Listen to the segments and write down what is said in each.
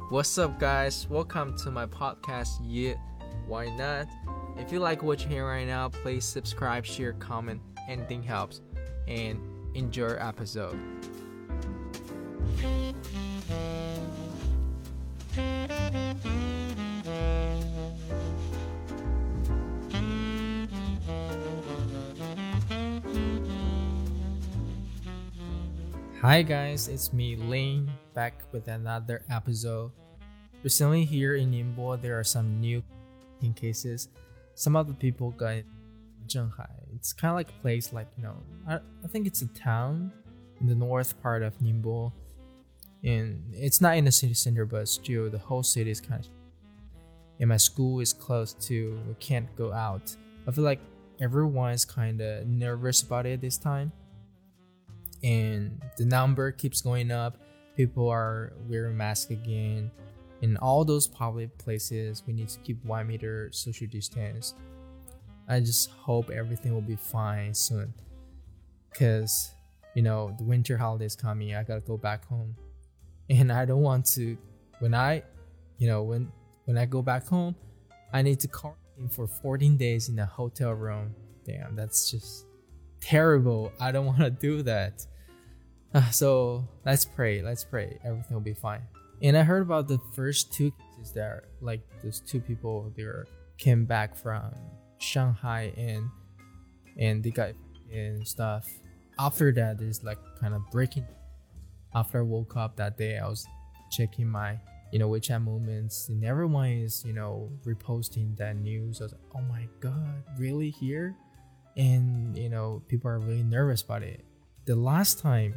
What's up, guys? Welcome to my podcast. Yeah, why not? If you like what you hear right now, please subscribe, share, comment. Anything helps. And enjoy our episode. Hi guys, it's me Lane back with another episode. Recently here in Ningbo, there are some new cases. Some of the people got in Zhenghai. It's kind of like a place I think it's a town in the north part of Ningbo. And it's not in the city center, but still the whole city is kind of. And my school is close to, we can't go out. I feel like everyone is kind of nervous about it this time. And the number keeps going up. People are wearing masks again. In all those public places, we need to keep 1 meter social distance. I just hope everything will be fine soon. Because, the winter holidays coming, I gotta go back home. And I don't want to, when I go back home, I need to quarantine for 14 days in a hotel room. Damn, that's just terrible. I don't want to do that. So let's pray everything will be fine. And I heard about the first two cases that those two people came back from Shanghai and they got and stuff. After that, there's kind of breaking. After I woke up that day, I was checking my WeChat moments, and everyone is reposting that news. I was like, oh my god, really here? And people are really nervous about it. The last time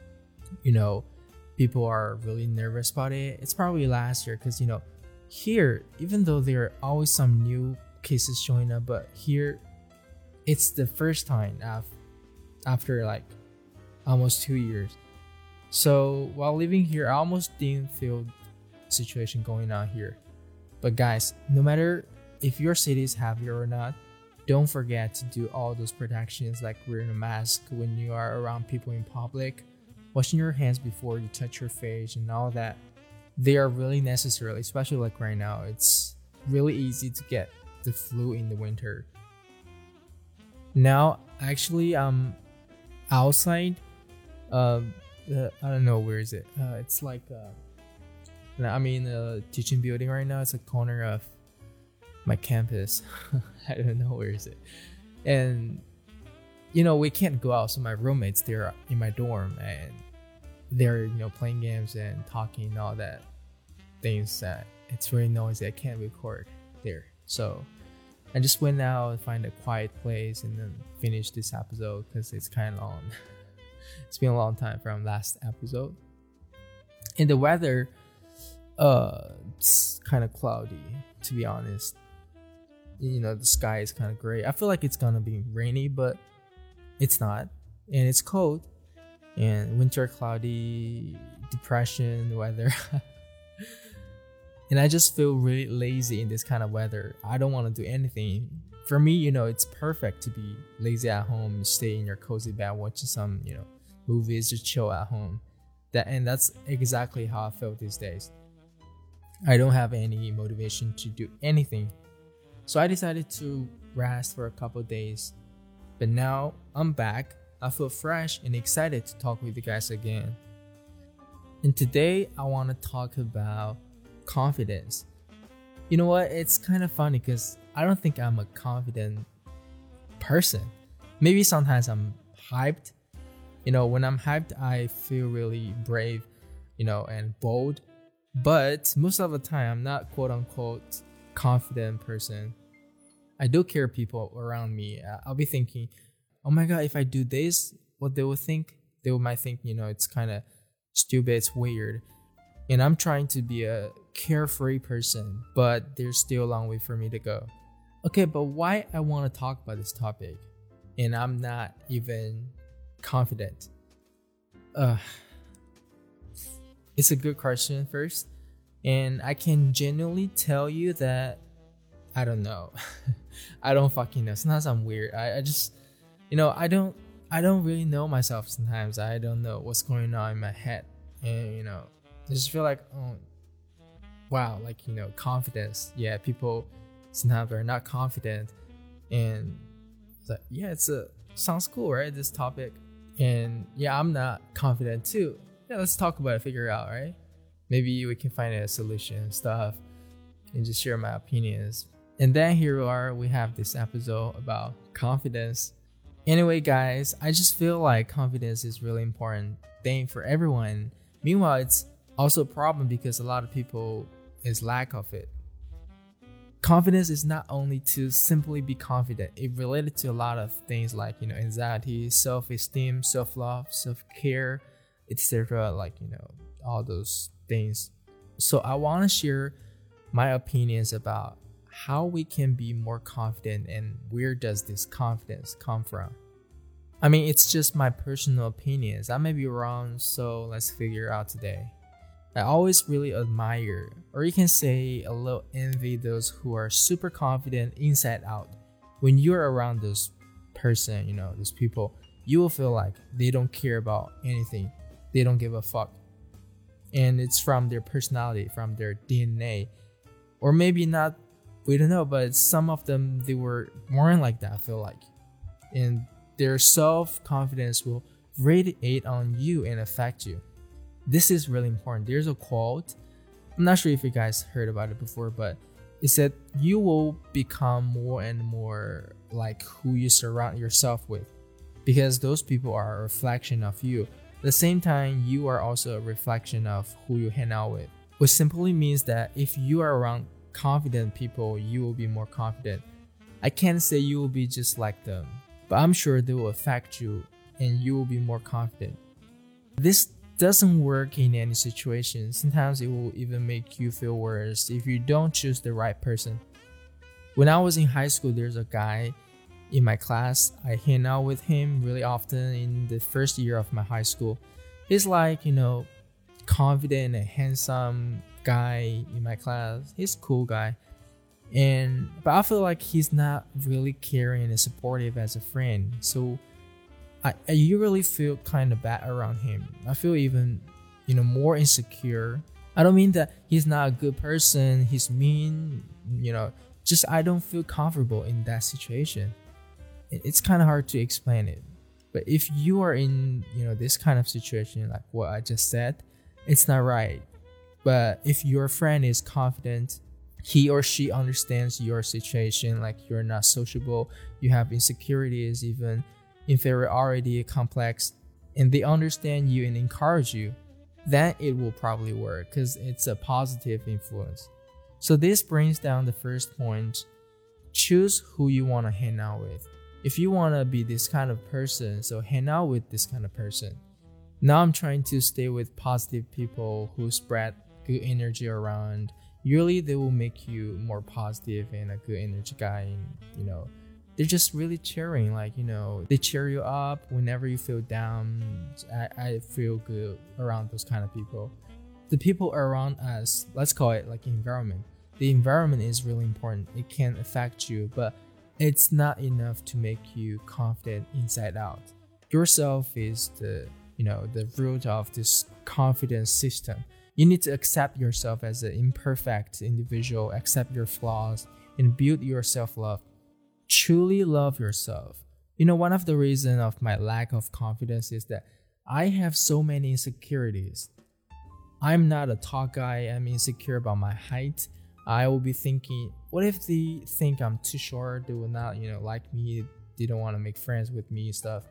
people are really nervous about it, it's probably last year, because here, even though there are always some new cases showing up, but here it's the first time after almost 2 years. So while living here, I almost didn't feel the situation going on here. But guys, no matter if your city is happy or not, don't forget to do all those protections, like wearing a mask when you are around people in public, washing your hands before you touch your face, and all that. They are really necessary, especially right now. It's really easy to get the flu in the winter. Now, actually, I'm outside. I don't know, where is it? It's I'm in a teaching building right now. It's a corner of my campus. I don't know, where is it? And we can't go out, so my roommates, they're in my dorm, and they're playing games and talking and all that things that it's really noisy. I can't record there, so I just went out and find a quiet place and then finish this episode, because it's kind of long. It's been a long time from last episode. And the weather, it's kind of cloudy, to be honest. The sky is kind of gray. I feel like it's gonna be rainy, but it's not. And it's cold, and winter, cloudy, depression weather. And I just feel really lazy in this kind of weather. I don't want to do anything. For me, it's perfect to be lazy at home, stay in your cozy bed, watching some movies, just chill at home. That's exactly how I feel these days. I don't have any motivation to do anything, so I decided to rest for a couple of days. But now I'm back. I feel fresh and excited to talk with you guys again. And today I want to talk about confidence. You know what? It's kind of funny, because I don't think I'm a confident person. Maybe sometimes I'm hyped. When I'm hyped, I feel really brave, and bold. But most of the time, I'm not quote unquote confident person. I do care people around me. I'll be thinking, oh my god, if I do this, what they will think? They might think, it's kind of stupid, it's weird. And I'm trying to be a carefree person, but there's still a long way for me to go. Okay, but why I want to talk about this topic, and I'm not even confident? It's a good question first, and I can genuinely tell you that I don't know. I don't fucking know. Sometimes I'm weird. I just, I don't really know myself sometimes. I don't know what's going on in my head. And, I just feel like, oh, wow, like, confidence. Yeah, people sometimes are not confident, and it's like, yeah, sounds cool, right? This topic, and yeah, I'm not confident too. Yeah, let's talk about it, figure it out, right? Maybe we can find a solution and stuff, and just share my opinions. And then here we have this episode about confidence. Anyway, guys, I just feel like confidence is really important thing for everyone. Meanwhile, it's also a problem because a lot of people is lack of it. Confidence is not only to simply be confident. It related to a lot of things like, anxiety, self-esteem, self-love, self-care, etc. Like, all those things. So I want to share my opinions about how we can be more confident and where does this confidence come from. I mean, it's just my personal opinions. I may be wrong, so let's figure out today. I always really admire, or you can say a little envy, those who are super confident inside out. When you're around those person, those people, you will feel like they don't care about anything. They don't give a fuck. And it's from their personality, from their DNA. Or maybe not, we don't know, but some of them, they were born like that, I feel like. And their self-confidence will radiate on you and affect you. This is really important. There's a quote, I'm not sure if you guys heard about it before, but it said you will become more and more like who you surround yourself with, because those people are a reflection of you. At the same time, you are also a reflection of who you hang out with, which simply means that if you are around confident people, you will be more confident. I can't say you will be just like them, but I'm sure they will affect you and you will be more confident. This doesn't work in any situation. Sometimes it will even make you feel worse if you don't choose the right person. When I was in high school, there's a guy in my class. I hang out with him really often in the first year of my high school. He's like, confident and handsome guy in my class. He's a cool guy. But I feel like he's not really caring and supportive as a friend. So I usually feel kind of bad around him. I feel even, more insecure. I don't mean that he's not a good person, he's mean, just I don't feel comfortable in that situation. It's kind of hard to explain it. But if you are in, this kind of situation, like what I just said, it's not right. But if your friend is confident, he or she understands your situation, like you're not sociable, you have insecurities, even inferiority complex, and they understand you and encourage you, then it will probably work because it's a positive influence. So this brings down the first point. Choose who you want to hang out with. If you want to be this kind of person, so hang out with this kind of person. Now I'm trying to stay with positive people who spread good energy around. Usually they will make you more positive and a good energy guy, and they're just really cheering, like, they cheer you up whenever you feel down. I feel good around those kind of people. The people around us, let's call it like environment. The environment is really important. It can affect you, but it's not enough to make you confident inside out. Yourself is the root of this confidence system. You need to accept yourself as an imperfect individual, accept your flaws, and build your self-love. Truly love yourself. One of the reasons of my lack of confidence is that I have so many insecurities. I'm not a tall guy. I'm insecure about my height. I will be thinking, what if they think I'm too short? They will not, like me. They don't want to make friends with me and stuff.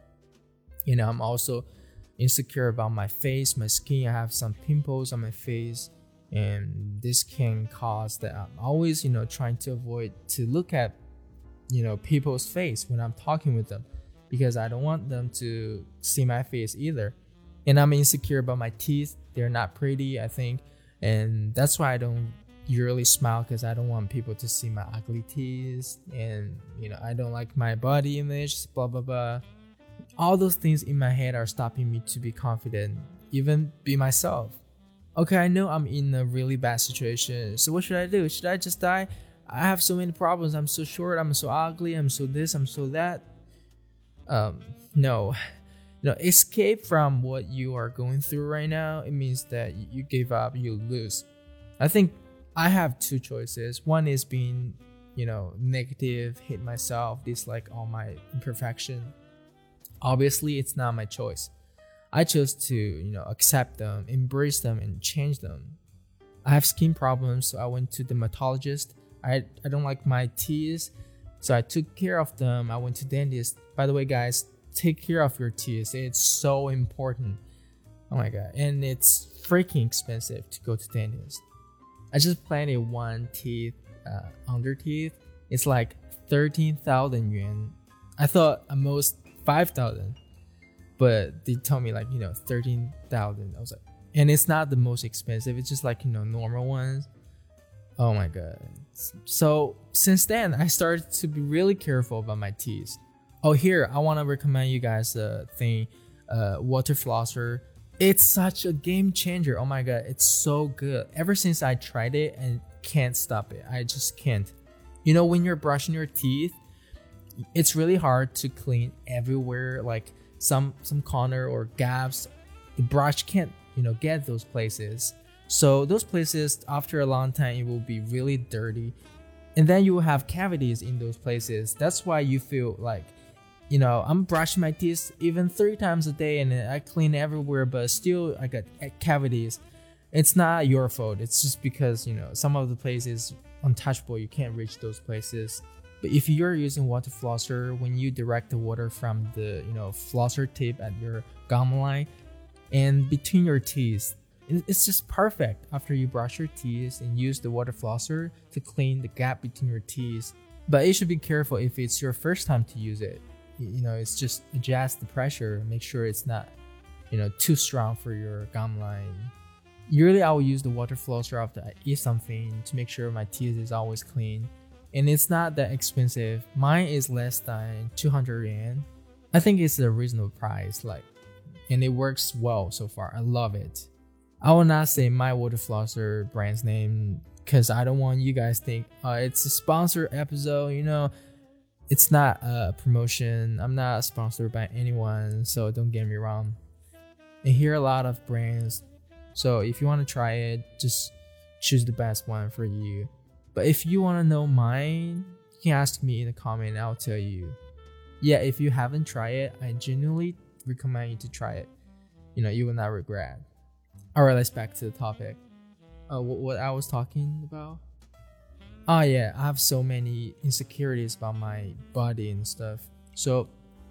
I'm also insecure about my face, my skin. I have some pimples on my face, and this can cause that I'm always, trying to avoid to look at people's face when I'm talking with them, because I don't want them to see my face either. And I'm insecure about my teeth. They're not pretty, I think, and that's why I don't usually smile, because I don't want people to see my ugly teeth. And I don't like my body image, blah blah blah. All those things in my head are stopping me to be confident, even be myself. Okay, I know I'm in a really bad situation, so what should I do? Should I just die? I have so many problems. I'm so short, I'm so ugly, I'm so this, I'm so that. No. Escape from what you are going through right now. It means that you give up, you lose. I think I have two choices. One is being, negative, hate myself, dislike all my imperfection. Obviously, it's not my choice. I chose to, accept them, embrace them, and change them. I have skin problems, so I went to dermatologist. I don't like my teeth, so I took care of them. I went to dentist. By the way, guys, take care of your teeth. It's so important. Oh my god, and it's freaking expensive to go to dentist. I just planted one teeth, under teeth. It's like 13,000 yuan. I thought at most 5,000, but they told me 13,000. I was like, and it's not the most expensive. It's just normal ones. Oh my god. So since then, I started to be really careful about my teeth. Oh, here, I want to recommend you guys a thing, water flosser. It's such a game changer. Oh my god, it's so good. Ever since I tried it and can't stop it. I just can't. When you're brushing your teeth, it's really hard to clean everywhere, like some corner or gaps. The brush can't, get those places. So those places, after a long time, it will be really dirty. And then you will have cavities in those places. That's why you feel like, I'm brushing my teeth even 3 times a day and I clean everywhere, but still I got cavities. It's not your fault. It's just because, some of the places untouchable, you can't reach those places. But if you're using water flosser, when you direct the water from the, flosser tip at your gum line and between your teeth, it's just perfect after you brush your teeth and use the water flosser to clean the gap between your teeth. But you should be careful if it's your first time to use it. It's just adjust the pressure, make sure it's not, too strong for your gum line. Usually I will use the water flosser after I eat something to make sure my teeth is always clean. And it's not that expensive. Mine is less than 200 yuan. I think it's a reasonable price, and it works well so far. I love it. I will not say my water flosser brand's name because I don't want you guys to think it's a sponsored episode. It's not a promotion. I'm not sponsored by anyone, so don't get me wrong. And here are a lot of brands. So if you want to try it, just choose the best one for you. But if you want to know mine, you can ask me in the comment and I'll tell you. Yeah, if you haven't tried it, I genuinely recommend you to try it. You will not regret. Alright, let's back to the topic. What I was talking about? Oh yeah, I have so many insecurities about my body and stuff. So,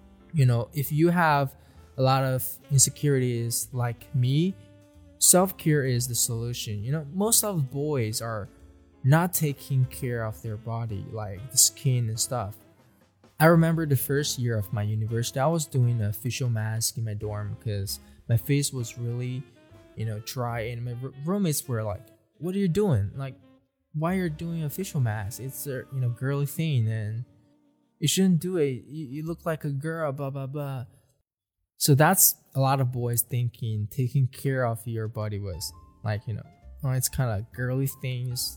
if you have a lot of insecurities like me, self-care is the solution. Most of the boys are not taking care of their body, like the skin and stuff. I remember the first year of my university, I was doing a facial mask in my dorm because my face was really, dry, and my roommates were like, "What are you doing? Why you're doing a facial mask? It's a girly thing and you shouldn't do it. You look like a girl, blah blah blah." So that's a lot of boys thinking taking care of your body was it's kind of girly things.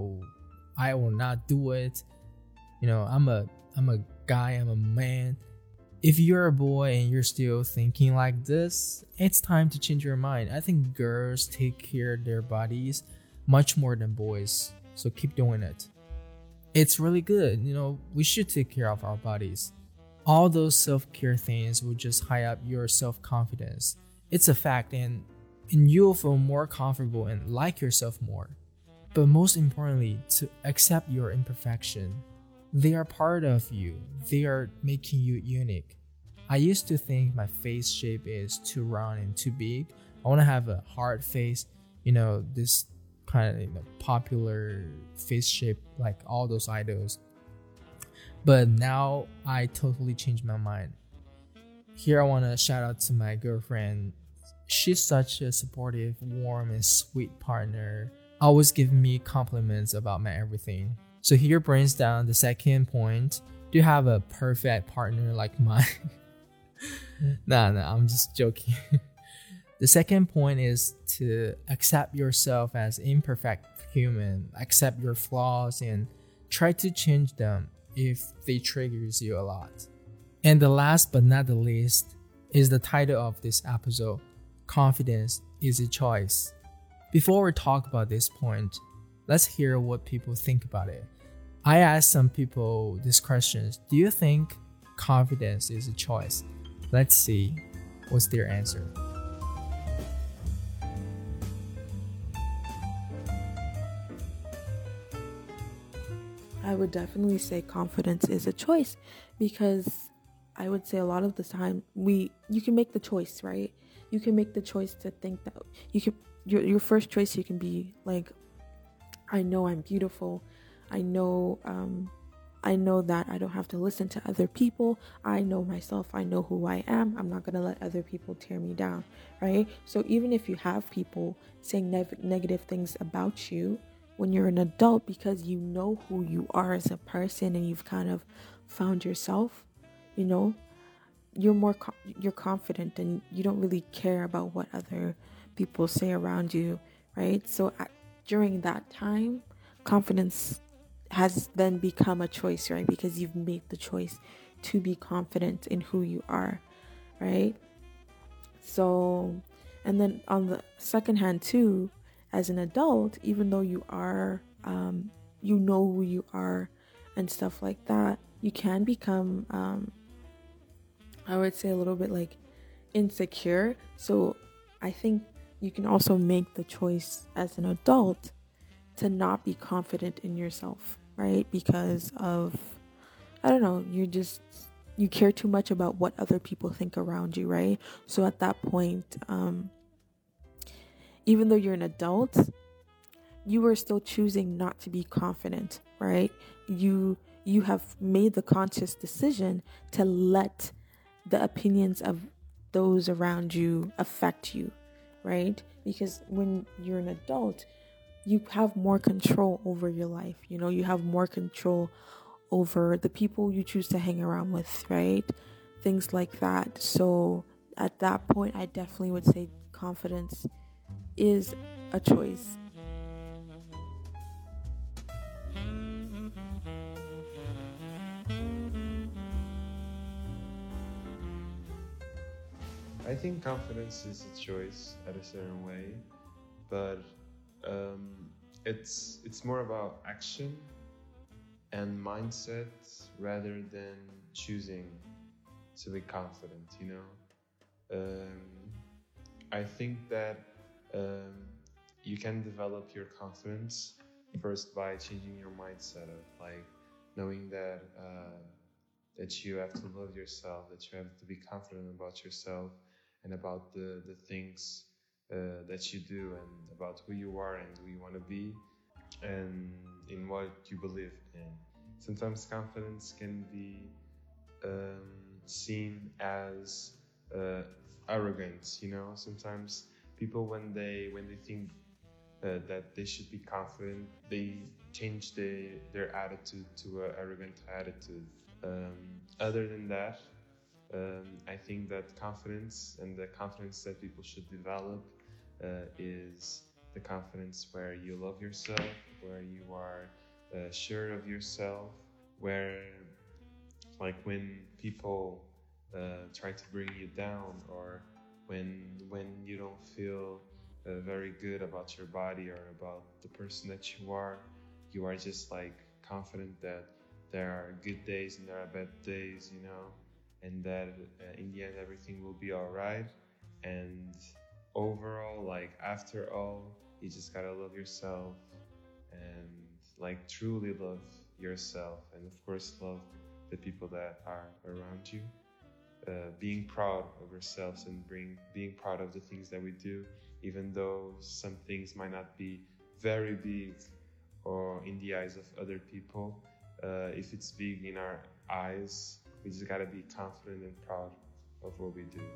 I will not do it. I'm a guy. I'm a man. If you're a boy and you're still thinking like this, it's time to change your mind. I think girls take care of their bodies much more than boys. So keep doing it. It's really good. We should take care of our bodies. All those self-care things will just high up your self-confidence. It's a fact, and you'll feel more comfortable and like yourself more. But most importantly, to accept your imperfection. They are part of you. They are making you unique. I used to think my face shape is too round and too big. I want to have a hard face, this kind of popular face shape like all those idols. But now I totally changed my mind. Here I want to shout out to my girlfriend. She's such a supportive, warm, and sweet partner, always giving me compliments about my everything. So here brings down the second point. Do you have a perfect partner like mine? Nah, I'm just joking. The second point is to accept yourself as imperfect human, accept your flaws, and try to change them if they triggers you a lot. And the last but not the least is the title of this episode, Confidence is a Choice. Before we talk about this point, Let's hear what people think about it. I asked some people these questions. Do you think confidence is a choice? Let's see what's their answer. I would definitely say confidence is a choice, because I would say a lot of the time you can make the choice, right? You can make the choice to think that you can your first choice, you can be like, I know I'm beautiful. I know that I don't have to listen to other people. I know myself. I know who I am. I'm not going to let other people tear me down, right? So even if you have people saying negative things about you when you're an adult, because you know who you are as a person and you've kind of found yourself, you know, you're confident and you don't really care about what other people say around you, right? So during that time, confidence has then become a choice, right? Because you've made the choice to be confident in who you are, right? So, and then on the second hand too, as an adult, even though you are, you know who you are and stuff like that, you can become, I would say, a little bit like insecure. So I think you can also make the choice as an adult to not be confident in yourself, right? Because of, I don't know, you care too much about what other people think around you, right? So at that point, even though you're an adult, you are still choosing not to be confident, right? You have made the conscious decision to let the opinions of those around you affect you, right? Because when you're an adult, you have more control over your life. You know, you have more control over the people you choose to hang around with, right? Things like that. So at that point, I definitely would say confidence is a choice. I think confidence is a choice at a certain way, but um, it's more about action and mindset rather than choosing to be confident. I think that um, you can develop your confidence first by changing your mindset of like knowing that you have to love yourself, that you have to be confident about yourself and about the things that you do and about who you are and who you want to be and in what you believe in. Sometimes confidence can be seen as uh, arrogance. Sometimes people when they think that they should be confident, they change their attitude to an arrogant attitude. Other than that, I think that confidence and the confidence that people should develop is the confidence where you love yourself, where you are sure of yourself, where like when people try to bring you down or when you don't feel very good about your body or about the person that you are just like confident that there are good days and there are bad days, and that in the end everything will be all right. And overall, like after all, you just gotta love yourself and like truly love yourself, and of course love the people that are around you. Being proud of ourselves and being proud of the things that we do, even though some things might not be very big or in the eyes of other people. If it's big in our eyes, we just gotta be confident and proud of what we do.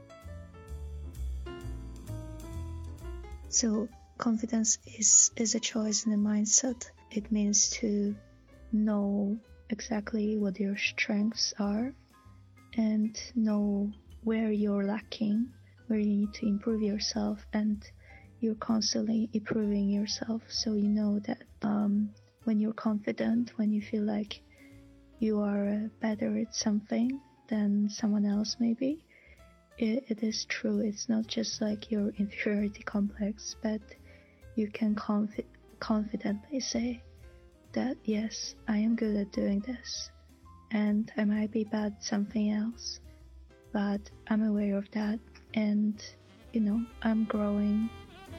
So confidence is a choice and a mindset. It means to know exactly what your strengths are and know where you're lacking, where you need to improve yourself, and you're constantly improving yourself. So you know that when you're confident, when you feel like you are better at something than someone else maybe, it is true. It's not just like your inferiority complex, but you can confidently say that yes, I am good at doing this, and I might be bad at something else, but I'm aware of that, and I'm growing.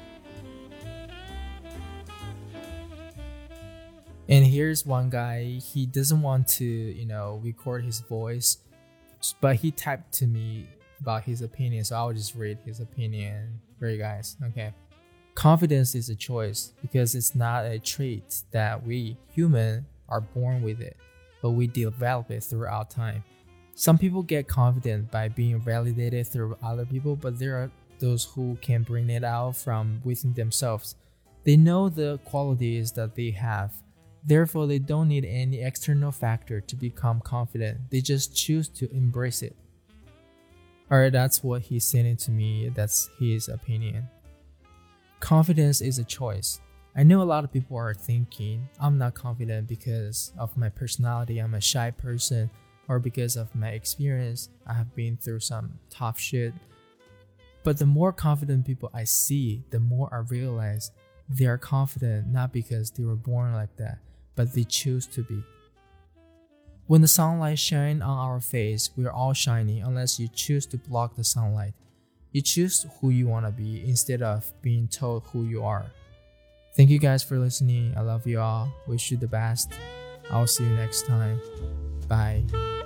And here's one guy, he doesn't want to, record his voice, but he typed to me about his opinion, so I'll just read his opinion for you guys. Okay. Confidence is a choice because it's not a trait that we human are born with it, but we develop it throughout time. Some people get confident by being validated through other people, but there are those who can bring it out from within themselves. They know the qualities that they have. Therefore, they don't need any external factor to become confident. They just choose to embrace it. Alright, that's what he's saying to me. That's his opinion. Confidence is a choice. I know a lot of people are thinking, I'm not confident because of my personality, I'm a shy person, or because of my experience, I have been through some tough shit. But the more confident people I see, the more I realize they are confident not because they were born like that, but they choose to be. When the sunlight shines on our face, we are all shining unless you choose to block the sunlight. You choose who you want to be instead of being told who you are. Thank you guys for listening. I love you all. Wish you the best. I'll see you next time. Bye.